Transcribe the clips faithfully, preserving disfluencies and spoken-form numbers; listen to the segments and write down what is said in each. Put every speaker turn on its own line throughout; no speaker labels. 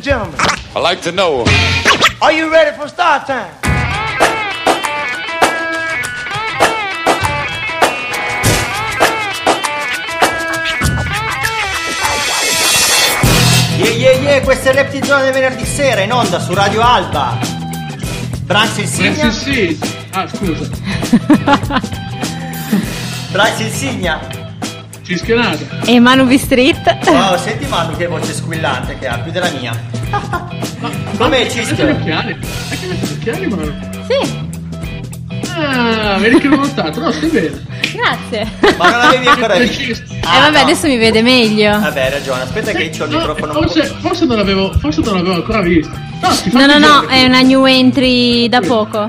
gentlemen.
I like to know.
Are you ready for start time?
Yeah, yeah, yeah, questa è Reptizone del venerdì sera in onda su Radio Alba. Branks Insignia.
Sì, sì. Ah, scusa.
Branks Insignia.
Cischionata.
E Manu B Street.
Wow, senti Manu che voce squillante che ha, più della mia. Com'è Cischio?
Metti gli occhiali. È che metti gli occhiali, Manu?
Sì.
Ah, vedi che l'ho notato. No, stai bene.
Grazie.
Ma non l'avevi ancora visto?
Eh
Ah,
vabbè,
no.
adesso mi vede meglio.
Vabbè, hai ragione. Aspetta che c'ho il
No,
microfono.
forse, forse non l'avevo forse non l'avevo ancora visto. No, ti fa
No, no, no,
vedere.
è una new entry da poco.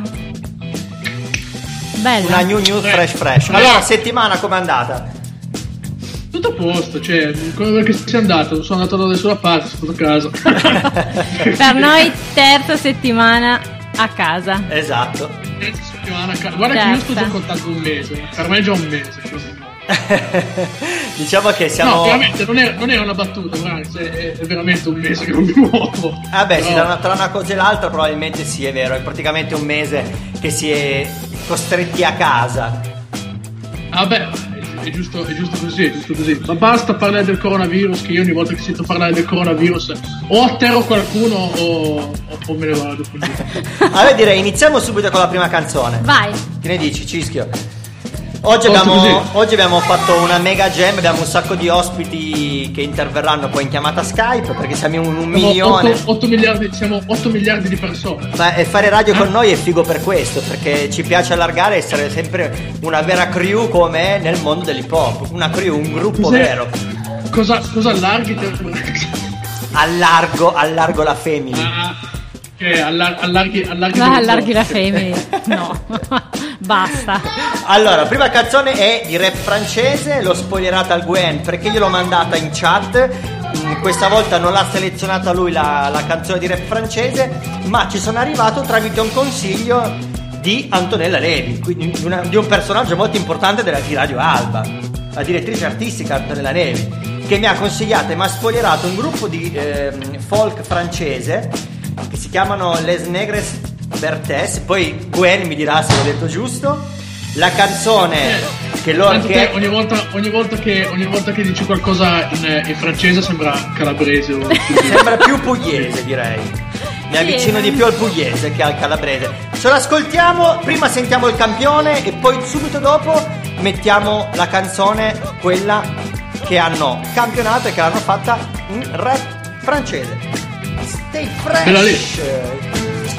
Bella.
Una new news fresh fresh. Allora, settimana com'è andata?
Tutto a posto, cioè, come che sei andato? Sono andato da nessuna parte, sono stato a casa.
Per noi terza settimana a casa.
Esatto.
Terza settimana a casa. Guarda che io sto
Certo.
già contando un mese. Per me è già un mese. cioè.
Diciamo che siamo.
No, veramente, non è, non è una battuta, Branks, è, è veramente un mese che non mi muovo.
Vabbè, sì,
Però-
tra una, tra una cosa e l'altra probabilmente sì, è vero. È praticamente un mese che si è costretti a casa.
Vabbè, è, è, giusto, è giusto così, è giusto così. Ma basta parlare del coronavirus, che io ogni volta che sento parlare del coronavirus o atterro qualcuno o, o, o me ne vado. quindi.
Allora direi iniziamo subito con la prima canzone.
Vai.
Che ne dici, Cischio? Oggi
Molto
abbiamo,
così.
oggi abbiamo fatto una mega jam, abbiamo un sacco di ospiti che interverranno poi in chiamata Skype perché siamo un, un
Siamo
milione.
otto, otto miliardi, siamo otto miliardi di persone.
Ma e fare radio con noi è figo per questo, perché ci piace allargare e essere sempre una vera crew come è nel mondo dell'hip hop. Una crew, un gruppo
Cos'è?
vero.
Cosa, cosa allarghi te?
Allargo, allargo la family.
Ah, che allar- allarghi, allarghi,
Va,
delle
allarghi la
cose.
family. No. Basta.
Allora, la prima canzone è di rap francese, l'ho spoilerata al Gwen perché gliel'ho mandata in chat. Mm, Questa volta non l'ha selezionata lui la, la canzone di rap francese, ma ci sono arrivato tramite un consiglio di Antonella Levi, quindi di, una- di un personaggio molto importante della, di Radio Alba, la direttrice artistica Antonella Levi, che mi ha consigliato e mi ha spoilerato un gruppo di ehm, folk francese che si chiamano Les Negres Bertes. Poi Gwen mi dirà se l'ho detto giusto. La canzone che loro
Tanto te,
che
ogni, volta, ogni, volta che, ogni volta che dici qualcosa in, in francese sembra calabrese o
sembra più pugliese, direi. Mi avvicino di più al pugliese che al calabrese. Ce l'ascoltiamo, prima sentiamo il campione e poi subito dopo mettiamo la canzone, quella che hanno campionato e che l'hanno fatta in rap francese. Stay
Bella lì.
fresh.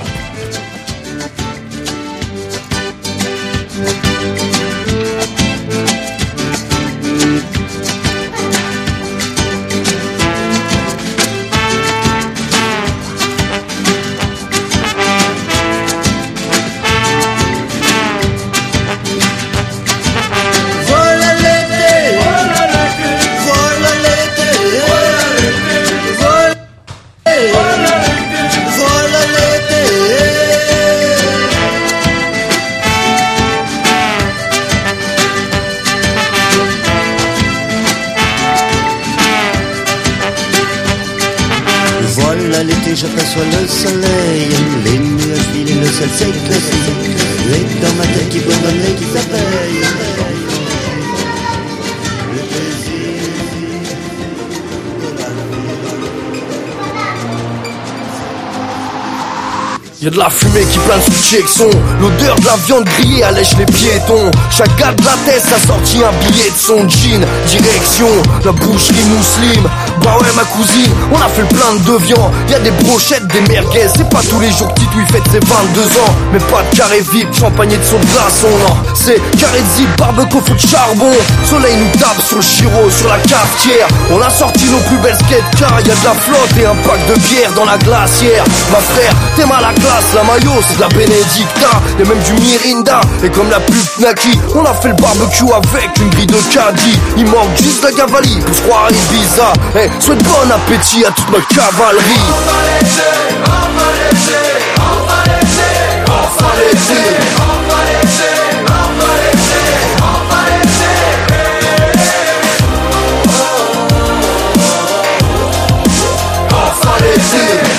Voilà l'été, voilà l'été, voilà l'été, voilà l'été. Voilà l'été, j'aperçois le soleil, les nuages filent et le ciel s'éclaircit, et dans ma tête qui bourdonne et qui s'appelle. Le plaisir de la
Y'a de la fumée qui plane sous le Jackson. L'odeur de la viande grillée allège les piétons. Chaque gars de la tête a sorti un billet de son jean. Direction la boucherie Mousseline. Bah ouais ma cousine, on a fait le plein de viande. Y'a des brochettes, des merguez. C'est pas tous les jours que Tito il fête ses vingt-deux ans. Mais pas de carré vide, champagne et de son glaçon. Non, c'est carré de zip, barbecue, feu de charbon. Soleil nous tape sur le chiro, sur la cafetière. On a sorti nos plus belles skates car y'a de la flotte et un pack de bière dans la glacière. Ma frère, t'es mal à classe, la maillot c'est de la Benedicta. Y'a même du Mirinda, et comme la pub Naki, on a fait le barbecue avec une grille de caddie. Il manque juste la cavalerie pour se croire à Ibiza. Eh, souhaite bon appétit à toute ma cavalerie.
On va l'été, on va l'été, on va l'été, on va l'été, on va l'été, on va l'été, on va l'été. On va l'été.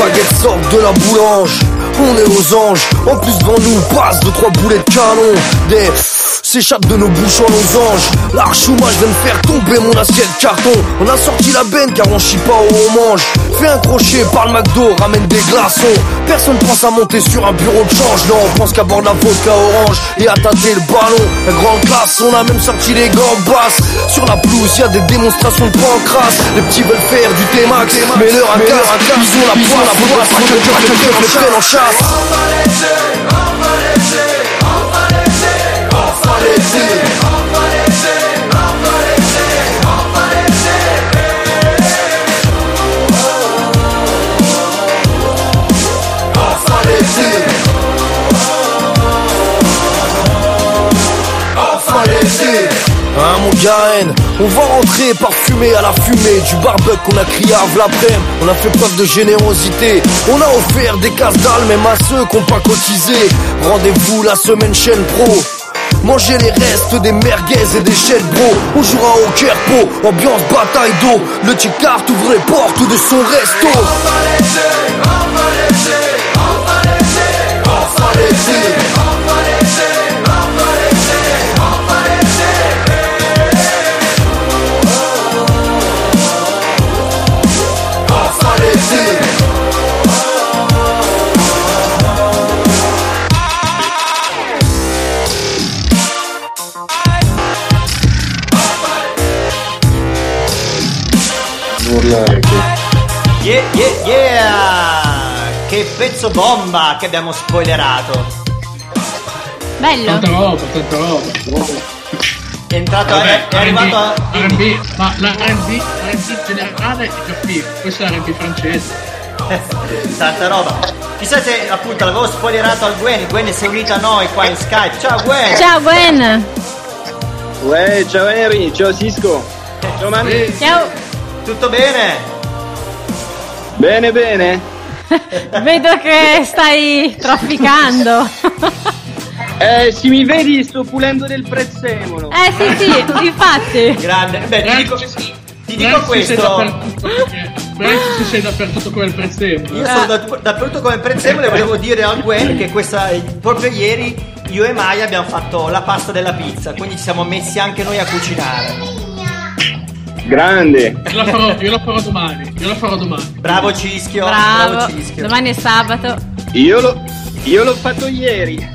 baguettes sortent de la boulange. On est aux anges, en plus devant nous passe deux trois boulets de canon. Des s'échappent de nos bouches en losange. L'archouma, je viens de faire tomber mon assiette carton. On a sorti la benne car on chie pas où on mange. Fais un crochet, parle McDo, ramène des glaçons. Personne pense à monter sur un bureau de change. Non, on pense qu'à boire de la vodka orange et à tâter le ballon. La grande classe, on a même sorti les gants basses. Sur la pelouse, y'a des démonstrations de pancrasse. Les petits veulent faire du T-Max, mais leur à casse. Ils ont la poisse, faudra pas que le cœur les prenne en chasse.
On va laisser, on va laisser, on va laisser, on va laisser, on va laisser, on va laisser, on va laisser. On va laisser, on va laisser.
Hein mon gars, on va rentrer parfumé à la fumée du barbecue qu'on a crié à l'après. On a fait preuve de générosité. On a offert des casse-dalles même à ceux qui n'ont pas cotisé. Rendez-vous la semaine chaîne pro. Manger les restes des merguez et des chèvres bro. On jouera au Kerpo, ambiance bataille d'eau. Le Ticard ouvre les portes de son resto.
On va laisser, on va laisser, on va laisser, on va laisser, on va laisser, on va laisser, on va laisser. On va laisser.
Yeah, yeah, yeah! Che pezzo bomba che abbiamo spoilerato.
Bello.
Tanta roba, tanta roba.
È entrato,
Vabbè,
è, è arrivato a...
R and B, ma l'R and B, l'R and B generale è capito, questo è l'R and B francese.
Tanta roba. Chissà se appunto l'avevo spoilerato al Gwen. Gwen si è unita a noi qua in Skype. Ciao Gwen.
Ciao Gwen.
Uè, ciao Henry, ciao Cisco. Ciao Mani.
Ciao.
Tutto bene?
Bene, bene.
Vedo che stai trafficando.
Eh, se mi vedi sto pulendo del prezzemolo.
Eh sì sì, infatti.
Grande. Beh, ti dico, ti dico questo.
Penso sei dappertutto come il prezzemolo.
Io sono da, dappertutto come il prezzemolo e volevo dire al Gwen che questa, proprio ieri io e Maya abbiamo fatto la pasta della pizza, quindi ci siamo messi anche noi a cucinare.
Grande.
Io la farò, io la farò domani. Io la farò domani.
Bravo Cischio.
Bravo.
Bravo Cischio.
Domani è sabato.
Io, lo, io l'ho fatto ieri.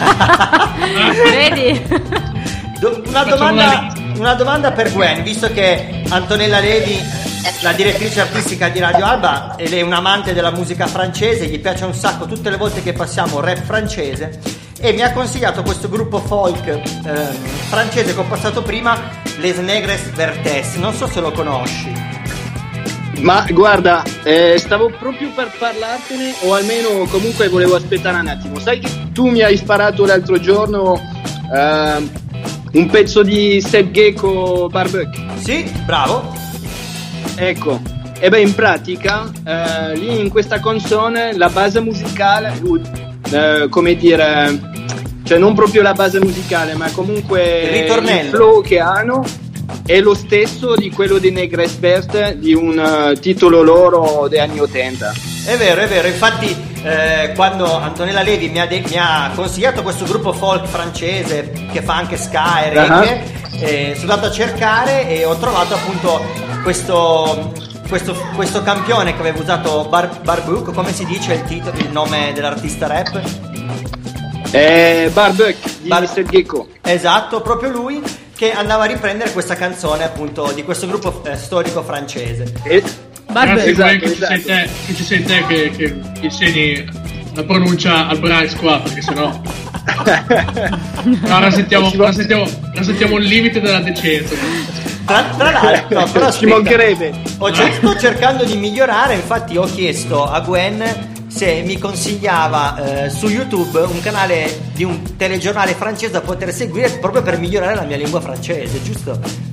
Vedi?
Do- una,
Facciamo
domanda,
una
una domanda per Gwen, visto che Antonella Levi, la direttrice artistica di Radio Alba, ed è un amante della musica francese, gli piace un sacco tutte le volte che passiamo rap francese, e mi ha consigliato questo gruppo folk eh, francese che ho passato prima, Les Negres Vertes. Non so se lo conosci.
Ma guarda, eh, stavo proprio per parlartene, o almeno comunque volevo aspettare un attimo. Sai che tu mi hai sparato l'altro giorno eh, un pezzo di Seb Gecko Barbecue?
Sì, bravo.
Ecco, e beh, in pratica eh, lì in questa canzone la base musicale, eh, come dire, cioè non proprio la base musicale, ma comunque
Il ritornello.
il flow che hanno è lo stesso di quello di Negres Bert, di un uh, titolo loro degli anni ottanta.
È vero, è vero, infatti eh, quando Antonella Levi mi ha, de- mi ha consigliato questo gruppo folk francese che fa anche ska e reggae, uh-huh. eh, sono andato a cercare e ho trovato appunto questo, questo, questo campione che aveva usato Bar- Barbecue, come si dice il titolo, il nome dell'artista rap?
Eh, Barbecue di
Bar-
mister Gecko.
Esatto, proprio lui, che andava a riprendere questa canzone appunto di questo gruppo eh, storico francese.
E-
Grazie
Esatto,
Gwen, che, ci sei
esatto.
te, che ci sei te che, che insegni la pronuncia al Bryce qua, perché sennò no, rasentiamo, rasentiamo, rasentiamo il limite della decenza.
Tra, tra l'altro, no, però
Ci
aspetta,
mancherebbe.
ho cer- sto cercando di migliorare, infatti ho chiesto a Gwen se mi consigliava eh, su YouTube un canale di un telegiornale francese da poter seguire proprio per migliorare la mia lingua francese, giusto?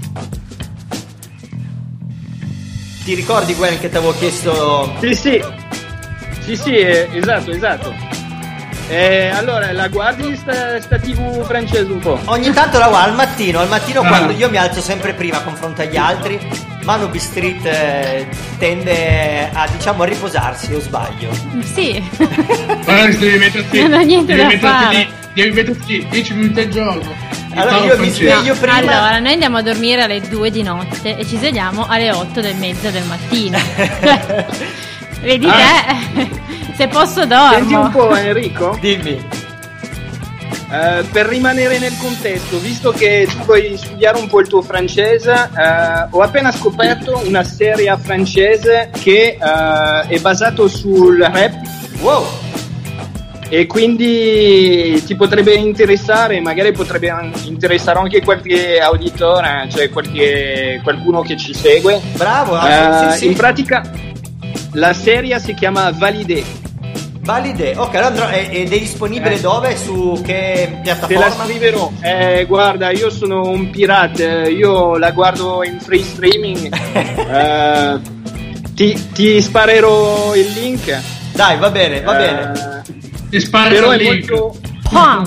Ti ricordi Gwen che ti avevo chiesto?
Sì, sì, sì, sì, eh, esatto, esatto. Eh, allora, la guardi sta, sta tivù francese un po'?
Ogni tanto la guardo al mattino, al mattino
Ah.
quando io mi alzo sempre prima confronto agli altri Manu B Street eh, tende a, diciamo, a riposarsi, o sbaglio?
Sì.
Guarda, devi metterti,
Non ho niente
devi
da
metterti
fare.
lì, devi metterti dieci minuti al giorno.
Allora
Imparo
io mi
francese.
sveglio prima.
Allora, noi andiamo a dormire alle due di notte e ci svegliamo alle otto e mezza del mattino. Vedi te? Se posso
Senti un
dormo.
po', Enrico.
Dimmi.
Eh, per rimanere nel contesto, visto che tu vuoi studiare un po' il tuo francese, eh, ho appena scoperto una serie francese che eh, è basato sul rap
Wow.
e quindi ti potrebbe interessare, magari potrebbe an- interessare anche qualche auditore, cioè qualche, qualcuno che ci segue.
Bravo.
Eh,
sì, sì.
In pratica la serie si chiama Validé.
Valide. Ok, allora andrò- ed è disponibile
Eh.
dove? Su che
Te la
piattaforma?
scriverò. Eh, guarda, io sono un pirata, io la guardo in free streaming. Eh, ti, ti sparerò il link.
Dai, va bene, va bene.
Eh,
Ti spara
però
il
è
link.
molto,
Ah,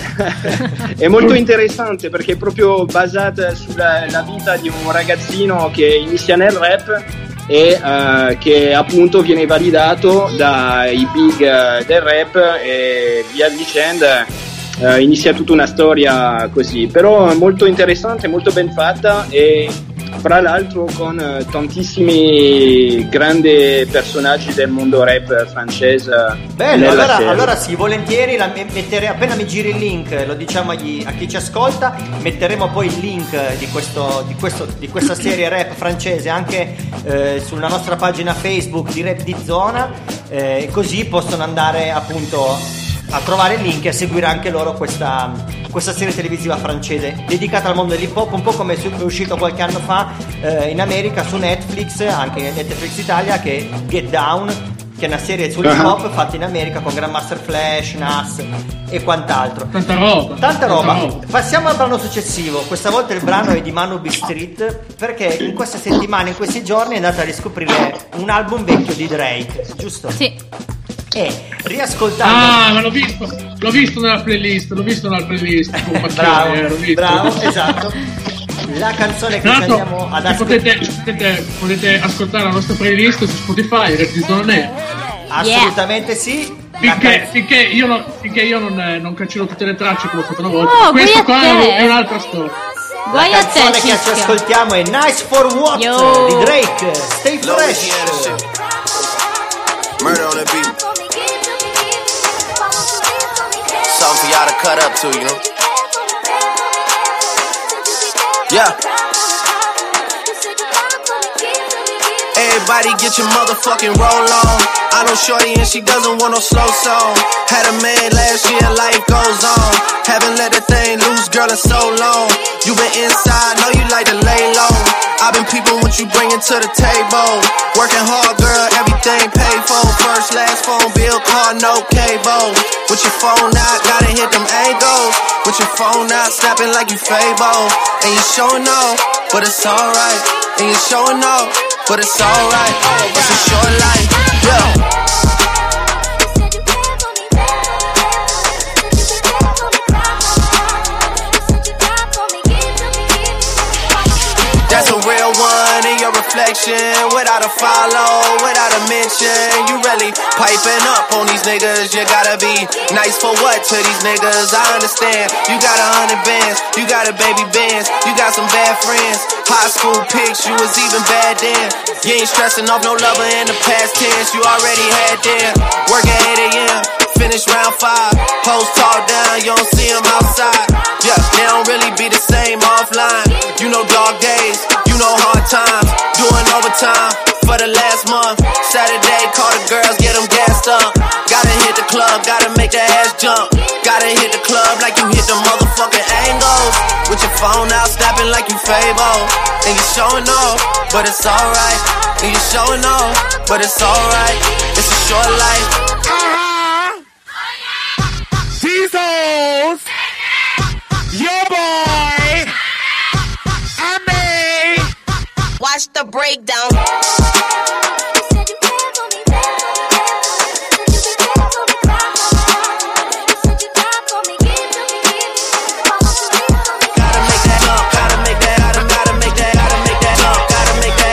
è molto interessante perché è proprio basata sulla la vita di un ragazzino che inizia nel rap e eh, che appunto viene validato dai big eh, del rap e via dicendo. Eh, inizia tutta una storia così, però è molto interessante, molto ben fatta e fra l'altro con eh, tantissimi grandi personaggi del mondo rap francese.
Bello,
nella
allora,
serie.
allora sì, volentieri la me- mettere, appena mi giri il link, lo diciamo agli- a chi ci ascolta, metteremo poi il link di, questo, di, questo, di questa serie rap francese anche eh, sulla nostra pagina Facebook di Rap di Zona, eh, così possono andare appunto a trovare il link e a seguire anche loro questa, questa serie televisiva francese dedicata al mondo dell'hip hop, un po' come è su- è uscito qualche anno fa eh, in America su Netflix, anche Netflix Italia, che è Get Down, che è una serie sull'hip hop fatta in America con Grandmaster Flash, Nas e quant'altro.
Tanta roba.
Tanta roba. Passiamo al brano successivo. Questa volta il brano è di Manu B Street, perché in queste settimane, in questi giorni è andata a riscoprire un album vecchio di Drake, giusto?
sì.
E riascoltando
Ah, ma l'ho visto, l'ho visto nella playlist, l'ho visto nella playlist. con passione,
bravo,
eh, l'ho visto.
bravo, esatto. La canzone che
Tra
ci
l'altro,
andiamo ad
se
ascoltare.
potete, potete, potete ascoltare la nostra playlist su Spotify, Rap di Zona Nera.
Assolutamente sì. La
Finché,
can-
finché io, non, finché io non, eh, non cancello tutte le tracce come ho fatto una volta.
Oh,
Questo
guai a
qua
te.
è un'altra storia.
La
Guai a te,
canzone che ci
Cischio.
ascoltiamo è Nice for What
Yo.
di Drake. Stay fresh.
Murder on the beat. Something for y'all to cut up to, you know? Yeah. Everybody get your motherfucking roll on. I know shorty and she doesn't want no slow song. Had a man last year, life goes on. Haven't let that thing loose, girl, in so long. You been inside, know you like to lay low. I've been peeping what you bringing to the table. Working hard, girl, everything paid for. First, last phone bill, car, no cable. With your phone out, gotta hit them angles. With your phone out, snapping like you Fable. And you showing off, but it's alright. And you showing off, but it's alright. It's a short life, yeah. That's a real one in your reflection. Without a follow, without a mention. You really piping up on these niggas. You gotta be nice for what to these niggas? I understand. You got a hundred bands, you got a baby bands, you got some bad friends. High school pics, you was even bad then. You ain't stressing off no lover in the past tense. You already had them. Working eight a.m. Finish round five. Hoes talk down, you don't see them outside. Yeah, they don't really be the same offline. You know dog days, you know hard times. Doing overtime for the last month. Saturday, call the girls, get them gassed up. Gotta hit the club, gotta make the ass jump. Gotta hit the club like you hit the motherfucking angles. With your phone out, snapping like you Fable. And you showing off, but it's alright. And you showing off, but it's alright. It's a short life.
These hoes, your boy, and me.
Watch the breakdown.
Gotta make that jump, gotta make that, gotta, gotta make that, gotta make that jump, gotta make that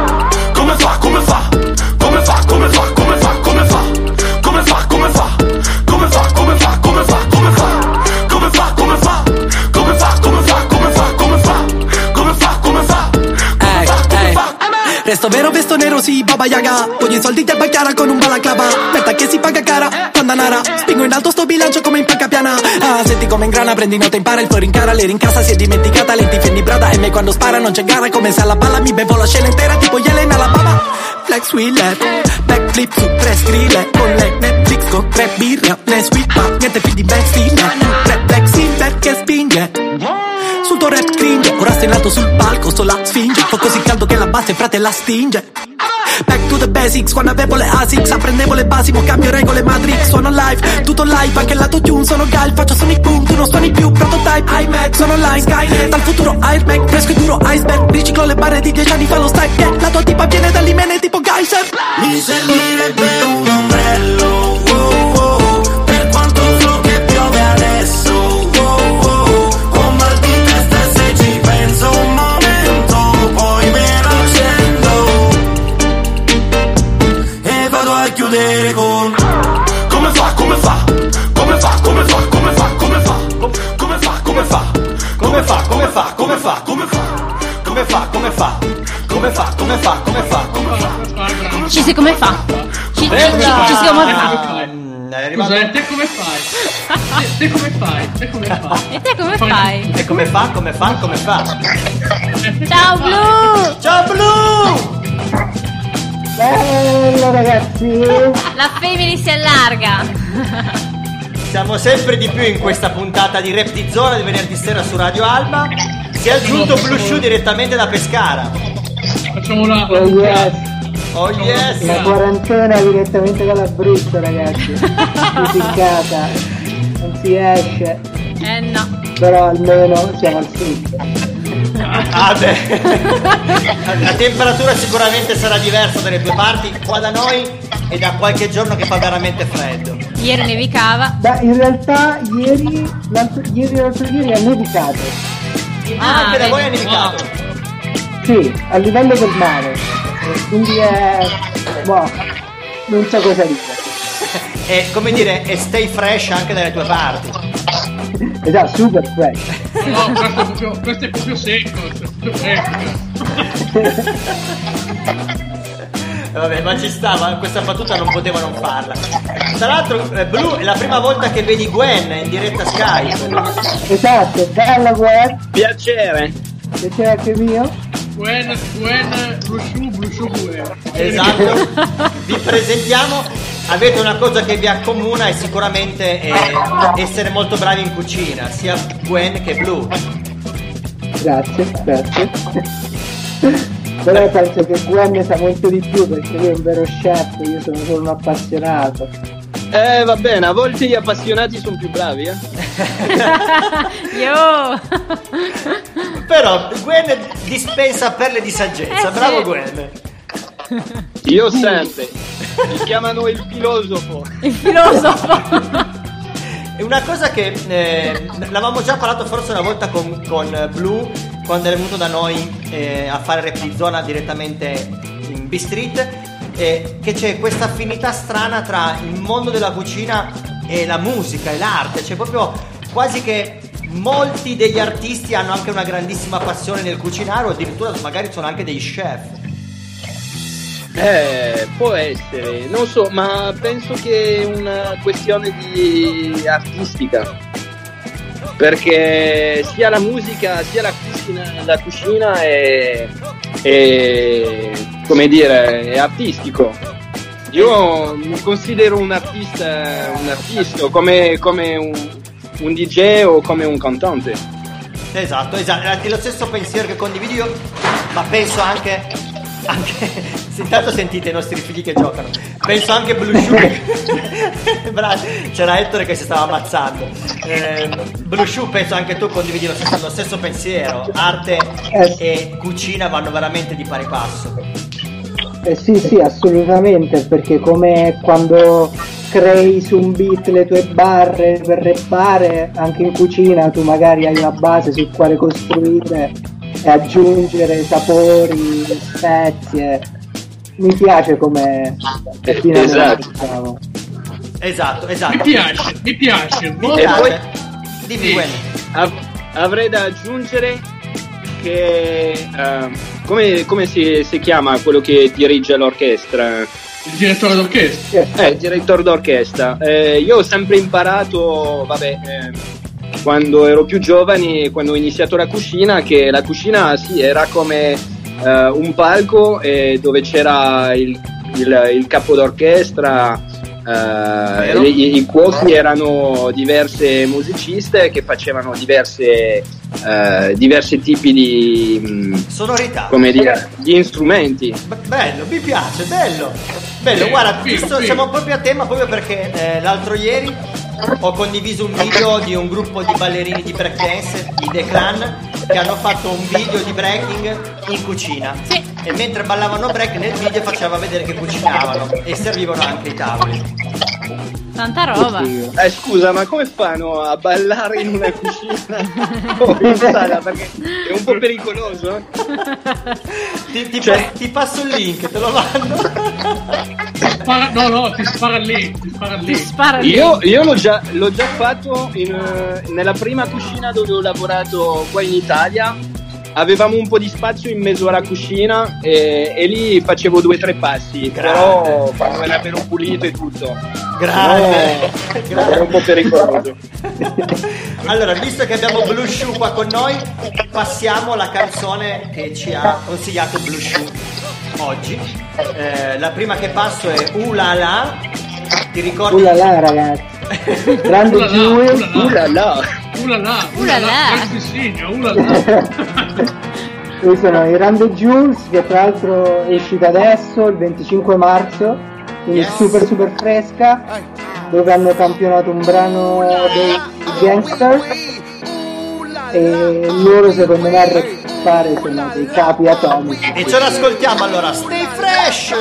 Vesto vero, vesto nero, sì, Baba Yaga. Voglio i soldi del bacchiara con un balaclava. Merda che si paga cara, pandanara. Spingo in alto sto bilancio come in panca piana. Ah, senti come ingrana, prendi nota, impara il fuori in cara. Le rincassa, si è dimenticata, lenti fendi brada. E me quando spara non c'è gara, come se alla palla mi bevo la scena intera tipo Yelena la baba. Flex wheeler, backflip su tre scrille. Con le Netflix, con tre birre. Ne sweep, niente più di backstream. Tre flexing perché spinge. Sul tuo rap cringe, ora stai in alto sul palco, sto la sfinge. Fa così caldo che la base frate la stinge. Back to the basics, quando avevo le Asics apprendevo le basi, mo cambio regole Matrix. Suono live, tutto live, anche il lato tune sono gal. Faccio sonic boom, tu non suoni più, prototype iMac, sono online, Skynet. Dal futuro Airbag, fresco e duro iceberg. Riciclo le barre di dieci anni fa lo strike, yeah. La tua tipa viene dall'Imene tipo Geyser.
Mi servirebbe un ombrello, wow, wow, per quanto flow che piove adesso, wow, wow. Ho mal di testa e se ci penso un momento, poi me lo accendo e vado a chiudere con come fa, come fa, come fa, come fa, come fa, come fa, come fa, come fa, come fa, come fa, come fa, come fa, come fa, come fa, come fa, come fa, come fa, come fa.
Ci si come fa? Ci, ci, ci, ci si come fa?
Scusa, e te come fai? Te, te come fai? Te come fai?
E te come fai?
E come fa, come fa, come fa?
Ciao Blu!
Ciao Blu!
Bello ragazzi!
La family si allarga!
Siamo sempre di più in questa puntata di Rap di Zona di venerdì sera su Radio Alba. Si è aggiunto Blue Shoe direttamente da Pescara.
Facciamo una...
Oh yes!
Oh yes!
La quarantena direttamente dall'Abruzzo ragazzi! Tutti in casa! Non si esce!
Eh no!
Però almeno siamo al sud!
Ah beh, la temperatura sicuramente sarà diversa dalle tue parti. Qua da noi è da qualche giorno che fa veramente freddo.
Ieri nevicava.
Beh, in realtà ieri, l'altro, ieri l'altro ieri ha nevicato.
Ah, anche da voi ha nevicato?
Sì, a livello del mare. Quindi è... boh, non so cosa dire.
È come dire, è stay fresh anche dalle tue parti.
Esatto, super fresh.
No, questo è proprio, questo è proprio secco, questo è proprio fresco.
Vabbè, ma ci stava, questa battuta non poteva non farla. Tra l'altro, eh, Blu, è la prima volta che vedi Gwen in diretta Skype.
Esatto, bella Gwen.
Piacere.
Piacere anche mio.
Gwen, Gwen, Blue Shoe, Blue Shoe Gwen.
Esatto. Vi presentiamo. Avete una cosa che vi accomuna e sicuramente è essere molto bravi in cucina, sia Gwen che Blu.
Grazie, grazie. Però penso che Gwen ne sa molto di più perché lui è un vero chef, io sono solo un appassionato.
Eh va bene, a volte gli appassionati sono più bravi, eh.
Yo!
Però Gwen dispensa perle di saggezza,
eh,
bravo
sì.
Gwen.
Io sempre. Mi chiamano il filosofo.
Il filosofo.
È una cosa che eh, l'avevamo già parlato forse una volta con, con Blu quando è venuto da noi eh, a fare Rap di Zona direttamente in B-Street, eh, che c'è questa affinità strana tra il mondo della cucina e la musica e l'arte. C'è proprio quasi che molti degli artisti hanno anche una grandissima passione nel cucinare o addirittura magari sono anche dei chef.
Eh, può essere, non so, ma penso che è una questione di artistica, perché sia la musica sia la cucina, la cucina è, è, come dire, è artistico. Io mi considero un artista, un artista come, come un, un D J o come un cantante.
Esatto, esatto, è lo stesso pensiero che condivido io, ma penso anche anche se intanto sentite i nostri figli che giocano, penso anche Blue Shoe. Bravo, c'era Ettore che si stava ammazzando. eh, Blue Shoe, penso anche tu condividi lo stesso, lo stesso pensiero. Arte
eh.
e cucina vanno veramente di pari passo.
Eh sì sì, assolutamente, perché come quando crei su un beat le tue barre per rappare, anche in cucina tu magari hai una base sul quale costruire e aggiungere sapori, spezie. Mi piace come
esatto.
Diciamo.
Esatto, esatto.
Mi piace, mi piace.
Mi
E
piace.
poi
Dimmi,
sì,
Gwen.
av- avrei da aggiungere che uh, come, come si, si chiama quello che dirige l'orchestra?
Il direttore d'orchestra.
Eh, il direttore d'orchestra. Eh, io ho sempre imparato, vabbè, eh, quando ero più giovane, quando ho iniziato la cucina, che la cucina sì, era come eh, un palco eh, dove c'era il, il, il capo d'orchestra. Uh, i, i cuochi erano diverse musiciste che facevano diverse uh, diversi tipi di mh,
sonorità,
come dire, di strumenti.
Be- bello, mi piace, bello bello, guarda, visto, siamo proprio a tema proprio perché eh, l'altro ieri ho condiviso un video di un gruppo di ballerini di breakdance, i The Clan, che hanno fatto un video di breaking in cucina.
Sì.
E mentre ballavano break nel video faceva vedere che cucinavano e servivano anche i tavoli.
Tanta roba.
Eh, scusa, ma come fanno a ballare in una cucina o in sala? Perché è un po' pericoloso.
ti, ti,
Cioè-
pa- ti passo il link, te lo mando.
Spara, no, no, ti spara lì, ti spara lì.
Ti spara lì.
Io, io l'ho, già, l'ho già fatto in, eh, nella prima cucina dove ho lavorato qua in Italia. Avevamo un po' di spazio in mezzo alla cucina e, e lì facevo due o tre passi.
Grande.
Però quando era bello pulito e tutto.
Grande,
No, era un po' pericoloso.
Allora, visto che abbiamo Blue Shoe qua con noi, passiamo alla canzone che ci ha consigliato Blue Shoe oggi. Eh, la prima che passo è Uh La La. Ti ricordi?
Uh la la, ragazzi. Grande
Uh la la,
Jules.
Uh la la.
Ulala,
Ulala.
ulala, ulala.
Questi sono i Run the Jules, che tra l'altro è uscita adesso, il venticinque marzo, quindi
Yes.
super super fresca, dove hanno campionato un brano dei Gangsters e loro secondo me a rappare sono dei capi atomici.
E ce l'ascoltiamo allora. Stay fresh.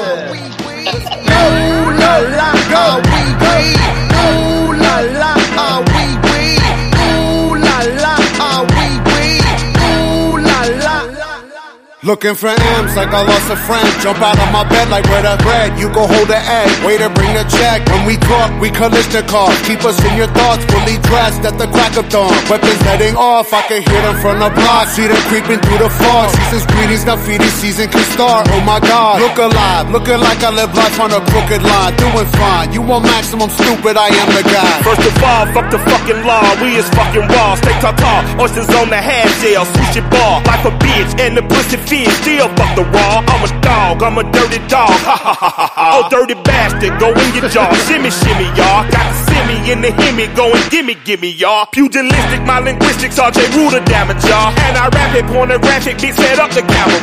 Ooh la la, oh we we. Ooh la la, oh we we. Ooh la la, oh we we. Ooh la la. Looking for M's like I lost a friend. Jump out of my bed like where the bread. You go hold the egg. Waiter bring the check. When we talk, we Kalishnikov. Keep us in your thoughts. Fully dressed at the crack of dawn. Weapons heading off. I can hear them from the block. See them creeping through the fog. Season's greetings. Now feeding season can start. Oh my God. Look alive. Looking like I live life on a crooked line. Doing fine. You want maximum stupid. I am the guy.
First of all, fuck the fucking law. We is fucking raw. Stay tartar. Oysters on the half shell. Swoosh your ball. Like a bitch and the pussy fish. Still fuck the raw. I'm a dog. I'm a dirty dog. Ha ha ha ha ha. Oh, dirty bastard. Go in your jaw. Shimmy, shimmy, y'all. Got the simmy in the himmy. Going gimme, gimme, y'all. Pugilistic, my linguistics. R J Ruder damage, y'all. And I rap it pornographic. Bitch, set up the camera.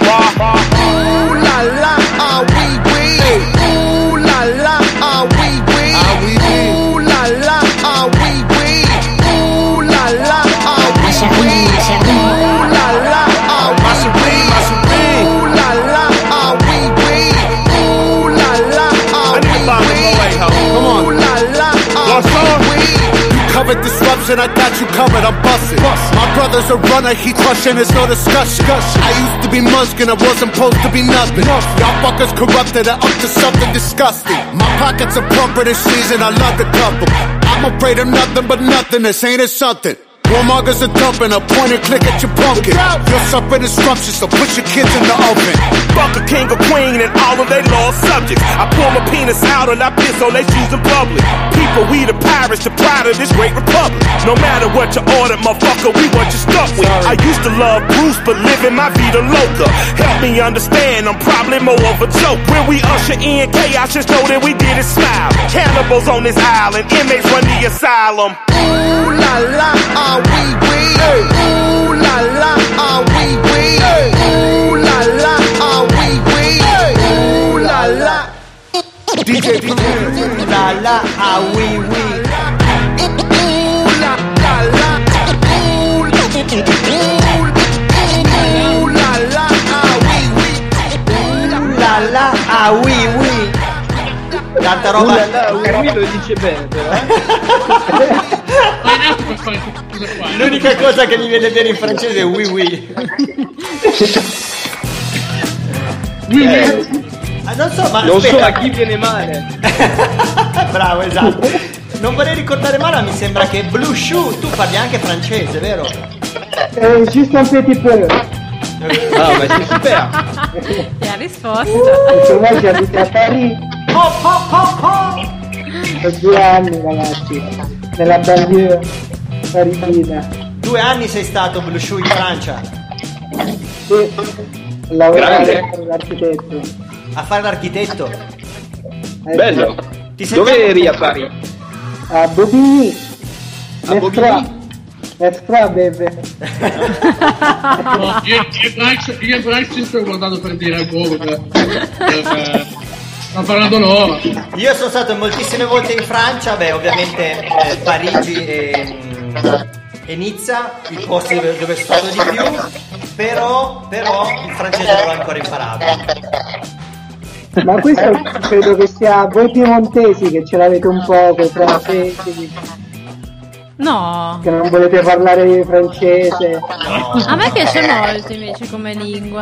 Ooh la la, ah wee wee. Ooh la la, ah wee wee. Ooh la la, ah wee wee. Ooh la la, ah wee wee. Ooh la la, ah wee wee. Ooh la la, ah wee wee. Ooh la la, ah wee wee. Ooh la la, ah wee wee.
Covered disruption, I got you covered, I'm busted. My brother's a runner, he crushing, there's no discussion. I used to be Munchkin, I wasn't supposed to be nothing. Y'all fuckers corrupted, I'm up to something disgusting. My pockets are plumper this season, I love the couple. I'm afraid of nothing but nothing, this ain't it something. Warmongers are dumping, a point and click at your pumpkin. You'll suffer disruption, so put your kids in the oven.
Fuck a king or queen and all of they lost subjects. I pull my penis out and I piss on they shoes in public. People, we the pirates, the pride of this great republic. No matter what you order, motherfucker, we what you stuck with. I used to love Bruce, but living my vida loca. Help me understand, I'm probably more of a joke. When we usher in chaos, just know that we did it smile. Cannibals on this island, inmates run the asylum.
Ooh la la, ah wee wee. Ooh la la, ah wee wee. Ooh la la, ah wee wee. Ooh la la.
D J, D J.
Ooh la la, ah wee wee.
Ooh la la la. Ooh la la, ah wee wee.
Ooh la la, ah wee wee. Tanta roba.
Uh la la, Carmine lo dice bene però.
L'unica cosa che mi viene bene in francese è oui oui.
Eh,
Ah, non so, ma
non so
aspetta.
a chi viene male.
Bravo, esatto. Non vorrei ricordare male, ma mi sembra che Blue Shoe tu parli anche francese, vero?
Eh, juste un petit peu.
Ah, ma c'est super.
E ha risposto.
Perché voi abita a Parigi.
Oh, oh, oh, oh.
Per due anni, ragazzi, nella banlieue parigina.
Due anni sei stato Blue Shoe in Francia?
Sì, lavorare
Grande.
come architetto.
A fare l'architetto?
Eh,
Bello.
Ti
Dove
sentiamo-
eri a Parigi?
A Bobigny.
A Bobigny?
Let's try, baby.
No, io, io e Brax, io e Brax ci sto guardando per dire ancora. Per, per, sta parlando loro.
Io sono stato moltissime volte in Francia, beh ovviamente eh, Parigi e, e Nizza, i posti dove, dove sono stato di più, però, però il francese non l'ho ancora imparato.
Ma questo credo che sia voi piemontesi che ce l'avete un po' con i francesi,
No,
che non volete parlare francese.
a me piace molto invece come lingua.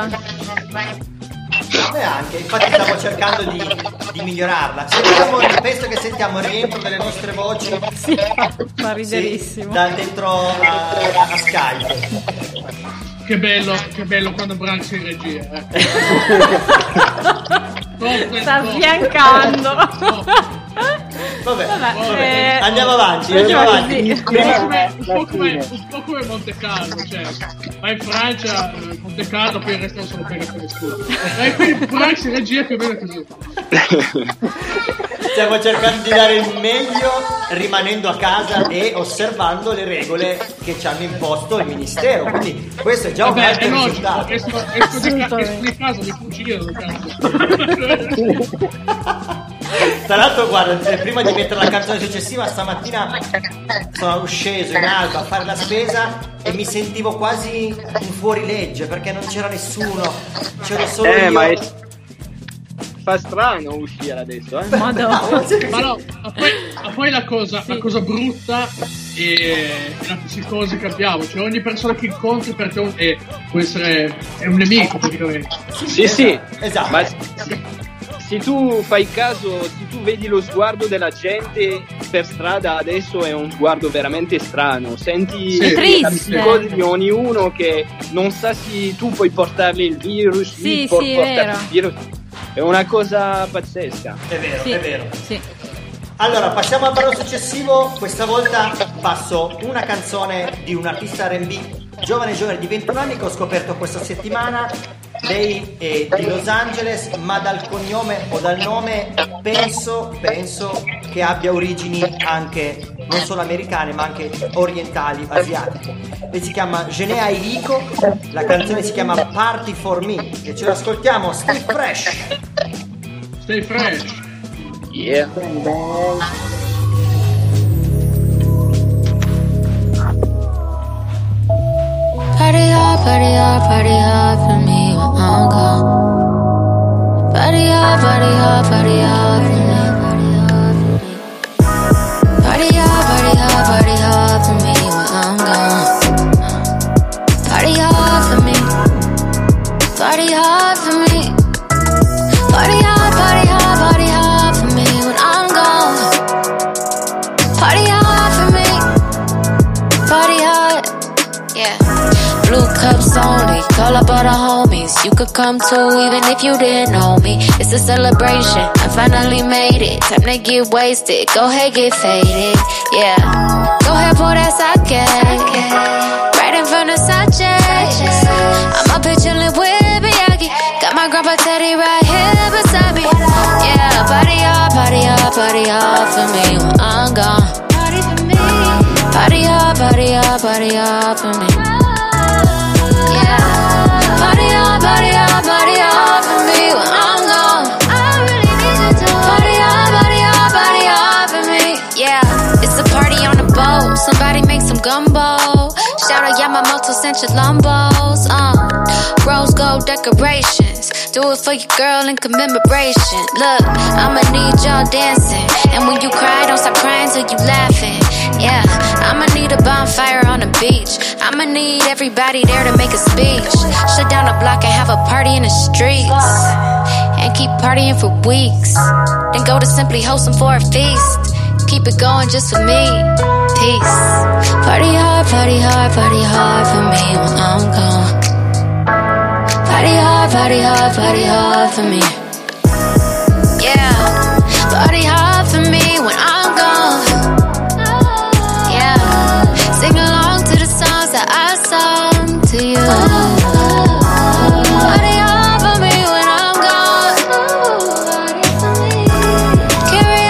A me anche, infatti stavo cercando di, di migliorarla. Sentiamo, penso che sentiamo il rientro delle nostre voci.
Sì, fa riderissimo.
Sì, da dentro a, a Skype.
Che bello, che bello quando Brax è in regia. Eh.
Sta sbiancando.
Vabbè,
Vabbè, eh,
andiamo avanti,
eh,
andiamo
sì.
avanti.
Un po' come, un po' come, un po' come Monte Carlo, cioè vai in Francia, eh, Monte Carlo, poi il resto non sono pega per nessuno. E quindi Brax in regia più o meno così.
Stiamo cercando di dare il meglio rimanendo a casa e osservando le regole che ci hanno imposto il ministero. Quindi questo è già un
Vabbè,
altro
è logico,
risultato.
esco, esco, di, ca- esco di casa, mi fucilano, cazzo.
Tra l'altro guarda, eh, prima di mettere la canzone successiva stamattina sono sceso in alba a fare la spesa e mi sentivo quasi un fuorilegge perché non c'era nessuno, c'ero solo
Eh,
io.
ma è... fa strano uscire adesso, eh?
Madonna.
Ma no, ma poi, ma poi la, cosa, la cosa brutta è la psicosi che abbiamo, cioè ogni persona che incontri per te è un- è- può essere è un nemico praticamente.
Sì, sì,
Esatto.
ma se tu fai caso, se tu vedi lo sguardo della gente per strada adesso è un sguardo veramente strano, senti
Sì. È
la
triste.
psicosi di ognuno che non sa se tu puoi portargli il virus,
Sì,
lui può
sì, è
portarti
vero.
il virus, è una cosa pazzesca.
È vero,
Sì,
è vero.
sì.
Allora, passiamo al brano successivo. Questa volta passo una canzone di un artista R and B giovane giovane di ventuno anni che ho scoperto questa settimana. Lei è di Los Angeles, ma dal cognome o dal nome penso, penso che abbia origini anche non solo americane ma anche orientali, asiatiche. Lei si chiama Jhené Aiko, la canzone si chiama Party for Me e ce l'ascoltiamo. Stay fresh.
Stay fresh.
Yeah.
Party hard, party hard, party hard for me when I'm gone. Party hard, party hard, party hard for me. Party hard, party hard, party hard for me when I'm gone. Party hard for me. Party hard for me. Party hard, party hard, party hard for me when I'm gone. Party hard for me. Party hard, yeah. Blue cups only, call up all the homies. You could come too, even if you didn't know me. It's a celebration, I finally made it. Time to get wasted, go ahead, get faded. Yeah, go ahead, pour that sake. Right in front of Sache. I'm up here chillin' with Miyagi. Got my grandpa Teddy right here beside me. Yeah, party hard, party hard, party hard for me when I'm gone. Party for me. Party hard, party hard, party hard for me. Party hard, party hard, party hard for me when I'm gone. I really need you to party hard, party hard, party hard for me. Yeah, it's a party on the boat. Somebody make some gumbo. Shout out Yamamoto sent your lumbos. Uh, rose gold decorations. Do it for your girl in commemoration. Look, I'ma need y'all dancing. And when you cry, don't stop crying till you laughing. Yeah, I'ma need a bonfire on the beach. I'ma need everybody there to make a speech. Shut down the block and have a party in the streets. And keep partying for weeks. Then go to Simply Wholesome for a feast. Keep it going just for me. Peace. Party hard, party hard, party hard for me when I'm gone. Party hard, party hard, party hard for me. Yeah, party hard for me when I'm gone. Yeah, sing along to the songs that I sung to you. Party hard for me when I'm gone. Carry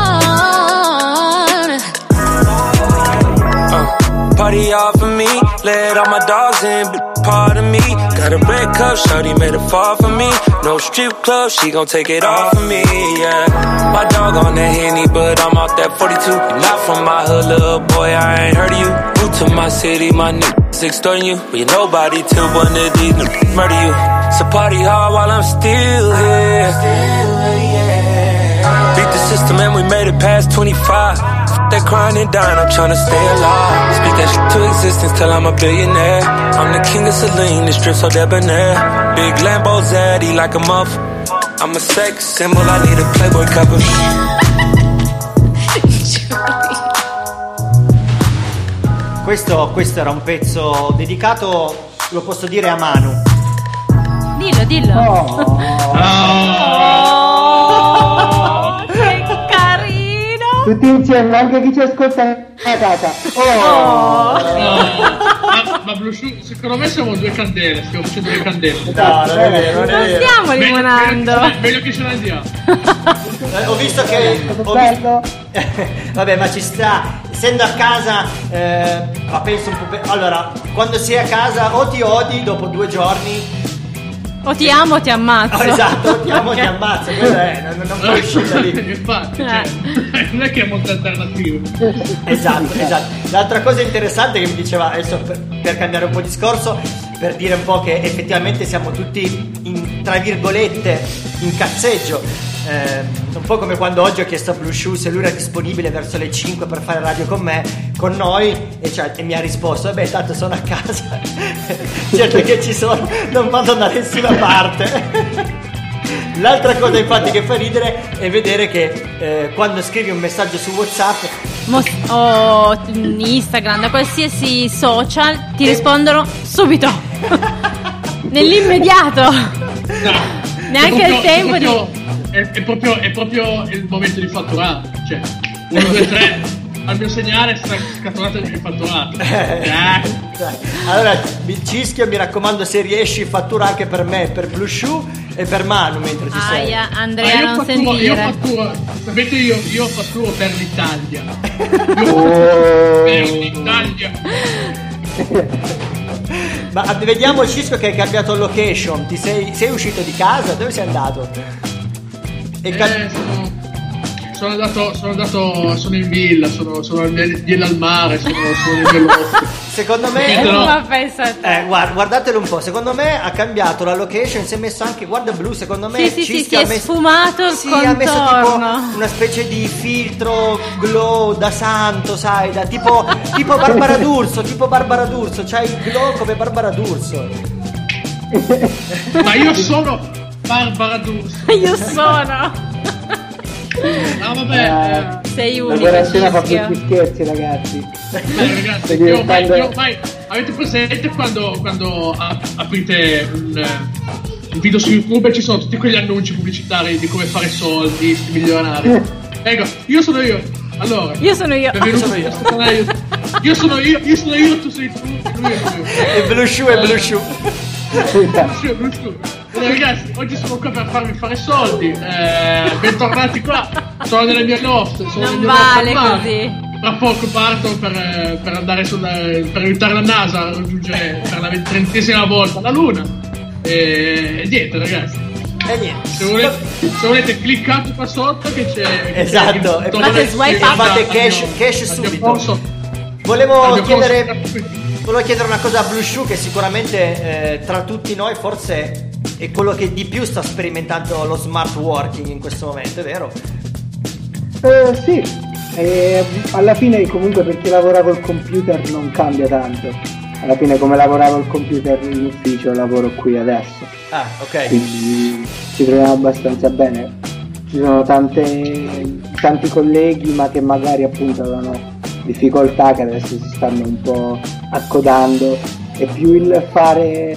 on.
uh, Party hard for me, let all my dogs in, but part of me. Got a red cup, shawty made it fall for me. No strip club, she gon' take it off of me, yeah. My dog on that Henny, but I'm off that forty-two. You're not from my hood, little boy, I ain't heard of you. Moved to my city, my niggas extorting you. But you're nobody till one of these niggas murder you. So party hard while I'm still here. Beat the system and we made it past twenty-five. That crying and dying, I'm tryna stay alive. Speak that shit to existence till I'm a billionaire. I'm the king of Celine, the strip so debonair. Big Lambo zaddy like a muff. I'm a sex symbol, I need a Playboy cover.
Questo, questo era un pezzo dedicato, lo posso dire, a Manu.
Dillo, dillo.
Oh.
Oh, che carino.
Tutti insieme, anche chi ci ascolta a casa. Oh.
Oh.
Ma, ma Blue Shoe, secondo me siamo due candele, stiamo facendo due candele.
No, non è vero, non è
Non
vero.
stiamo limonando.
Meglio, meglio che ce ne andiamo.
Eh, Ho visto che ho visto... Vabbè, ma ci sta. Essendo a casa, eh, ma penso un po'. Pe... Allora, quando sei a casa o ti odi dopo due giorni.
O ti amo o ti ammazzo.
Oh, esatto, ti amo o ti ammazzo. Quello è, non, non puoi uscire da lì.
Infatti, cioè, non è che è molto alternativo.
Esatto, esatto. L'altra cosa interessante che mi diceva, adesso per, per cambiare un po' discorso, per dire un po' che effettivamente siamo tutti in, tra virgolette, in cazzeggio. Eh, un po' come quando oggi ho chiesto a Blue Shoe se lui era disponibile verso le cinque per fare radio con me, con noi, e, cioè, e mi ha risposto: vabbè, tanto sono a casa. Certo che ci sono, non vado da nessuna parte. L'altra cosa infatti che fa ridere è vedere che eh, quando scrivi un messaggio su WhatsApp
Mos- o Instagram, da qualsiasi social, ti rispondono subito. Nell'immediato.
No.
Neanche
proprio,
il tempo
è proprio,
di...
È, è, proprio, è proprio il momento di fatturare. Cioè, uno, due, tre, al mio segnale sta scatolato il fatturato. Eh.
Allora, Cischio, mi raccomando, se riesci, fattura anche per me, per Blue Shoe e per Manu mentre ci sei.
Aia, Andrea,
Ah, io
non
fatturo,
sentire.
io fatturo, sapete, io, io fatturo per l'Italia.
Oh.
Per l'Italia.
Ma vediamo, Cisco, che hai cambiato location. Ti sei, sei uscito di casa? Dove sei andato? E ca-
Eh, sono, sono andato, sono andato, sono in villa, sono, sono nel- villa al mare, sono, sono nel bellotto.
Secondo me,
Capito, no?
Ma pensa a te.
eh, guarda, guardatelo un po'. Secondo me ha cambiato la location. Si è messo anche, guarda, Blu. Secondo me
Sì, sì, sì,
Cischio
si
ha
è
messo,
sfumato il
sì, ha messo tipo
contorno.
una specie di filtro glow da santo, sai, da tipo, tipo Barbara D'Urso, tipo Barbara D'Urso. C'hai il glow come Barbara D'Urso.
Ma io sono Barbara D'Urso.
Io sono.
Ah, vabbè.
Sei
La
unico,
quarantena fa
Cischio.
brutti scherzi, ragazzi.
Eh, beh, ragazzi,
Stai
io ormai,
diventando-
io ormai- avete presente quando, quando ap- aprite un, eh, un video su YouTube e ci sono tutti quegli annunci pubblicitari di come fare soldi, sti milionari. Ecco, io sono io. Allora,
Io sono io.
benvenuto
Sono io.
a questo canale YouTube. Io sono io, io sono io, tu sei tu, lui è lui.
E Blue Shoe e Blue Shoe.
Sì, Blue Shoe. Allora, ragazzi, oggi sono qua per farvi fare soldi. Eh, bentornati qua. Sono nelle mie loft. Sono nel
Non
mio
vale
loft al mare.
così.
Tra poco parto per, eh, per andare sulla, per aiutare la NASA a raggiungere per la trentesima volta la Luna. E, e niente, ragazzi.
E niente.
Se volete, se volete cliccate qua sotto che c'è. che
Esatto.
c'è
E
il
fate swipe
che
up.
va
Fate
al
cash-
mio-
cash
al mio
subito.
corso-
Volevo
al mio corso-
chiedere, volevo chiedere una cosa a Blue Shoe, che sicuramente eh, tra tutti noi forse è quello che di più sta sperimentando lo smart working in questo momento, è vero?
Eh, sì, e alla fine comunque per chi lavora col computer non cambia tanto. Alla fine come lavoravo al computer in ufficio lavoro qui adesso.
Ah, ok.
Quindi ci troviamo abbastanza bene. Ci sono tante, tanti colleghi ma che magari appunto avevano difficoltà, che adesso si stanno un po' accodando. E più il fare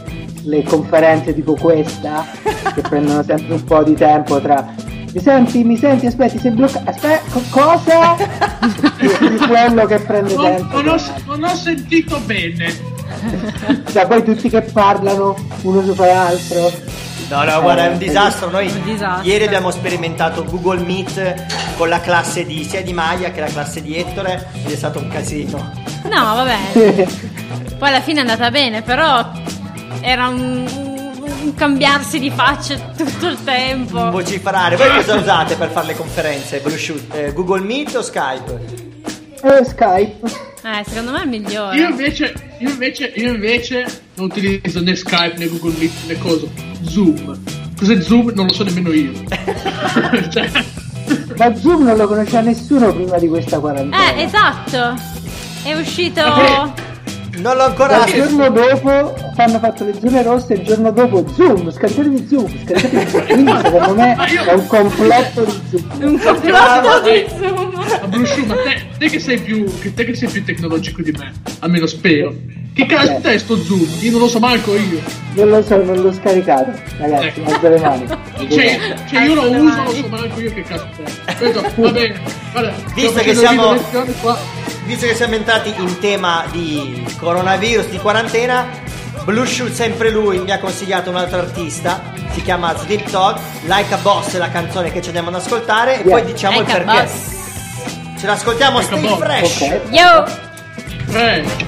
le conferenze tipo questa, che prendono sempre un po' di tempo tra mi senti, mi senti, aspetti, sei bloccato, aspetta, co- cosa? Di quello che prende
non,
tempo.
Non ho, non ho sentito bene.
Cioè, poi tutti che parlano uno sopra l'altro.
No, no, guarda, è un
Eh,
disastro. Noi
un disastro.
ieri abbiamo sperimentato Google Meet con la classe di sia di Maya che la classe di Ettore ed è stato un casino.
No, vabbè. Poi alla fine è andata bene, però era un, un cambiarsi di faccia tutto il tempo.
Vociferare. Voi cosa usate per fare le conferenze? Bluetooth, eh, Google Meet o Skype?
Eh, Skype.
Eh, secondo me è il migliore.
Io invece, io invece, io invece non utilizzo né Skype né Google Meet né cosa. Zoom. Cos'è Zoom? Non lo so nemmeno io. Cioè...
Ma Zoom non lo conosceva nessuno prima di questa quarantena.
Eh, esatto. È uscito.
Non l'ho ancora.
Il giorno dopo hanno fatto le zone rosse, il giorno dopo Zoom, scaricatevi Zoom, scaricatevi Zoom. Quindi secondo me è un complotto di Zoom.
Un complotto di Zoom.
Ma Brusciu, ma te, te che sei più che te che sei più tecnologico di me, almeno spero. Che cazzo è sto Zoom? Io non lo so manco io.
Non lo so, non l'ho scaricato, ragazzi,
Ecco.
alzo le mani.
Cioè, cioè io lo uso, non so manco io che cazzo è. Questo, va bene. Guarda,
Visto
sto
che
facendo
siamo-
video lezioni qua.
Visto che siamo entrati in tema di coronavirus, di quarantena, Blueshoot, sempre lui, mi ha consigliato un altro artista, si chiama Snoop Dogg, Like a Boss è la canzone che ci andiamo ad ascoltare e
Yeah.
poi diciamo
Like
il
a
perché.
Boss.
Ce l'ascoltiamo,
Like a
Stay
Boss,
Fresh.
ok.
Yo.
Tre.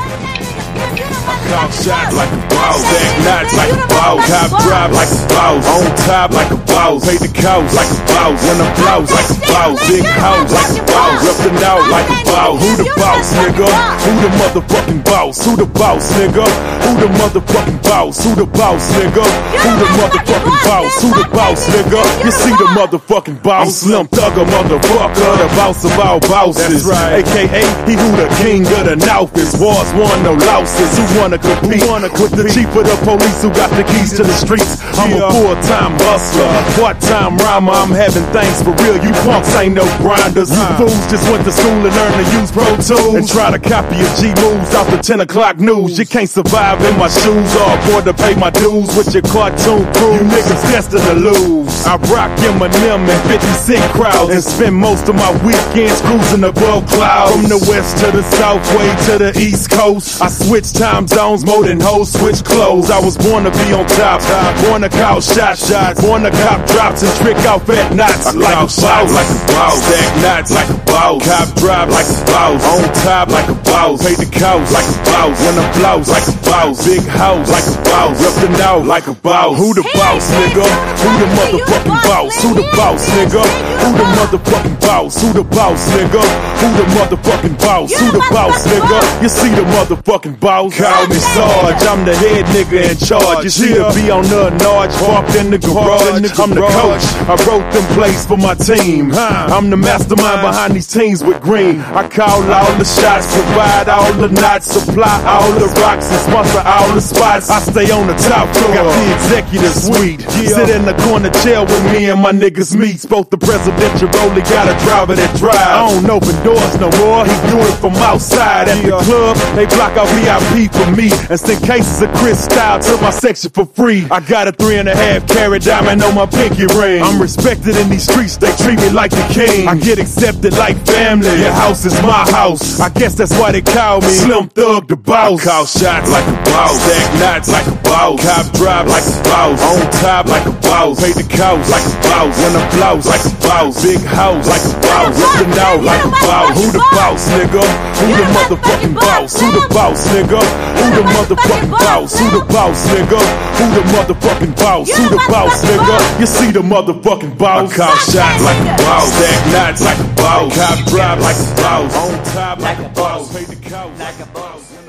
Cop shot like a boss, stack knots like a boss, cop drive like a boss, on top like a boss, pay the cost like a boss, when I'm blouse like a boss, big house like a boss, reppin' out like a boss. Who the boss, nigga? Who the motherfucking boss? Who the boss, nigga? Who the motherfucking boss? Who the boss, nigga? Who the motherfucking boss? Who the boss, nigga? You see the motherfucking boss, Slim Thugger, motherfucker, the boss of all bosses. That's right. A K A he who the king of the north is. Wars won, no losses. Who wanna compete wanna with the chief of the police who got the keys to the streets? I'm a full-time hustler, part-time rhymer. I'm having things for real. You punks ain't no grinders. You fools just went to school and learned to use Pro Tools and try to copy a G moves off the ten o'clock news. You can't survive in my shoes or afford to pay my dues with your cartoon crew. You niggas destined to lose. I rock Eminem and fifty cent crowds and spend most of my weekends cruising above clouds. From the west to the south way to the east coast, I switch time zones more than hoes switch clothes. I was born to be on top, born to call shot shots, born to cop drops and trick off at knots. Like a boss, like a boss, stack knots like a boss, cop drive like a boss, on top like a boss, pay the cost like a boss, when I'm blouse like a boss, big house like a boss, reppin' out like a boss. Who the boss, nigga? Who the motherfucking boss? Who the boss, nigga? Who the motherfucking boss? Who the boss, nigga? Who the motherfucking boss? Who the boss, nigga? You see the motherfucking boss? Call me Sarge, I'm the head nigga in charge. You see to be on the Narge, parked in the garage. I'm the coach, I wrote them plays for my team. I'm the mastermind behind these teams with green. I call all the shots, provide all the knots, supply all the rocks, and sponsor all the spots. I stay on the top floor, got the executive suite. Sit in the corner chair with me and my niggas meet. Spoke the presidential rollie, got a driver that drive. I don't open doors no more, he do it from outside. At the club, they block out V I P for me and send cases of Cristal to my section for free. I got a three and a half carat diamond on my pinky ring. I'm respected in these streets, they treat me like the king. I get accepted like family, your house is my house. I guess that's why they call me Slim Thug the boss. I call shots like a boss, stack knots like a boss, cop drive like a boss, on top like a boss, pay the cost like a boss, when I'm blouse like a boss, big house like a boss, rippin' out like a boss. Who the boss, nigga? Who the motherfucking boss? Who the boss, nigga? Who the motherfucking boss? Who the boss, nigga? Who the motherfucking boss? Who the boss, nigga? You see the motherfucking boss? I call shots like a boss, stack knots like a boss, cop drive like a boss, on top like a boss, pay the cost like a boss.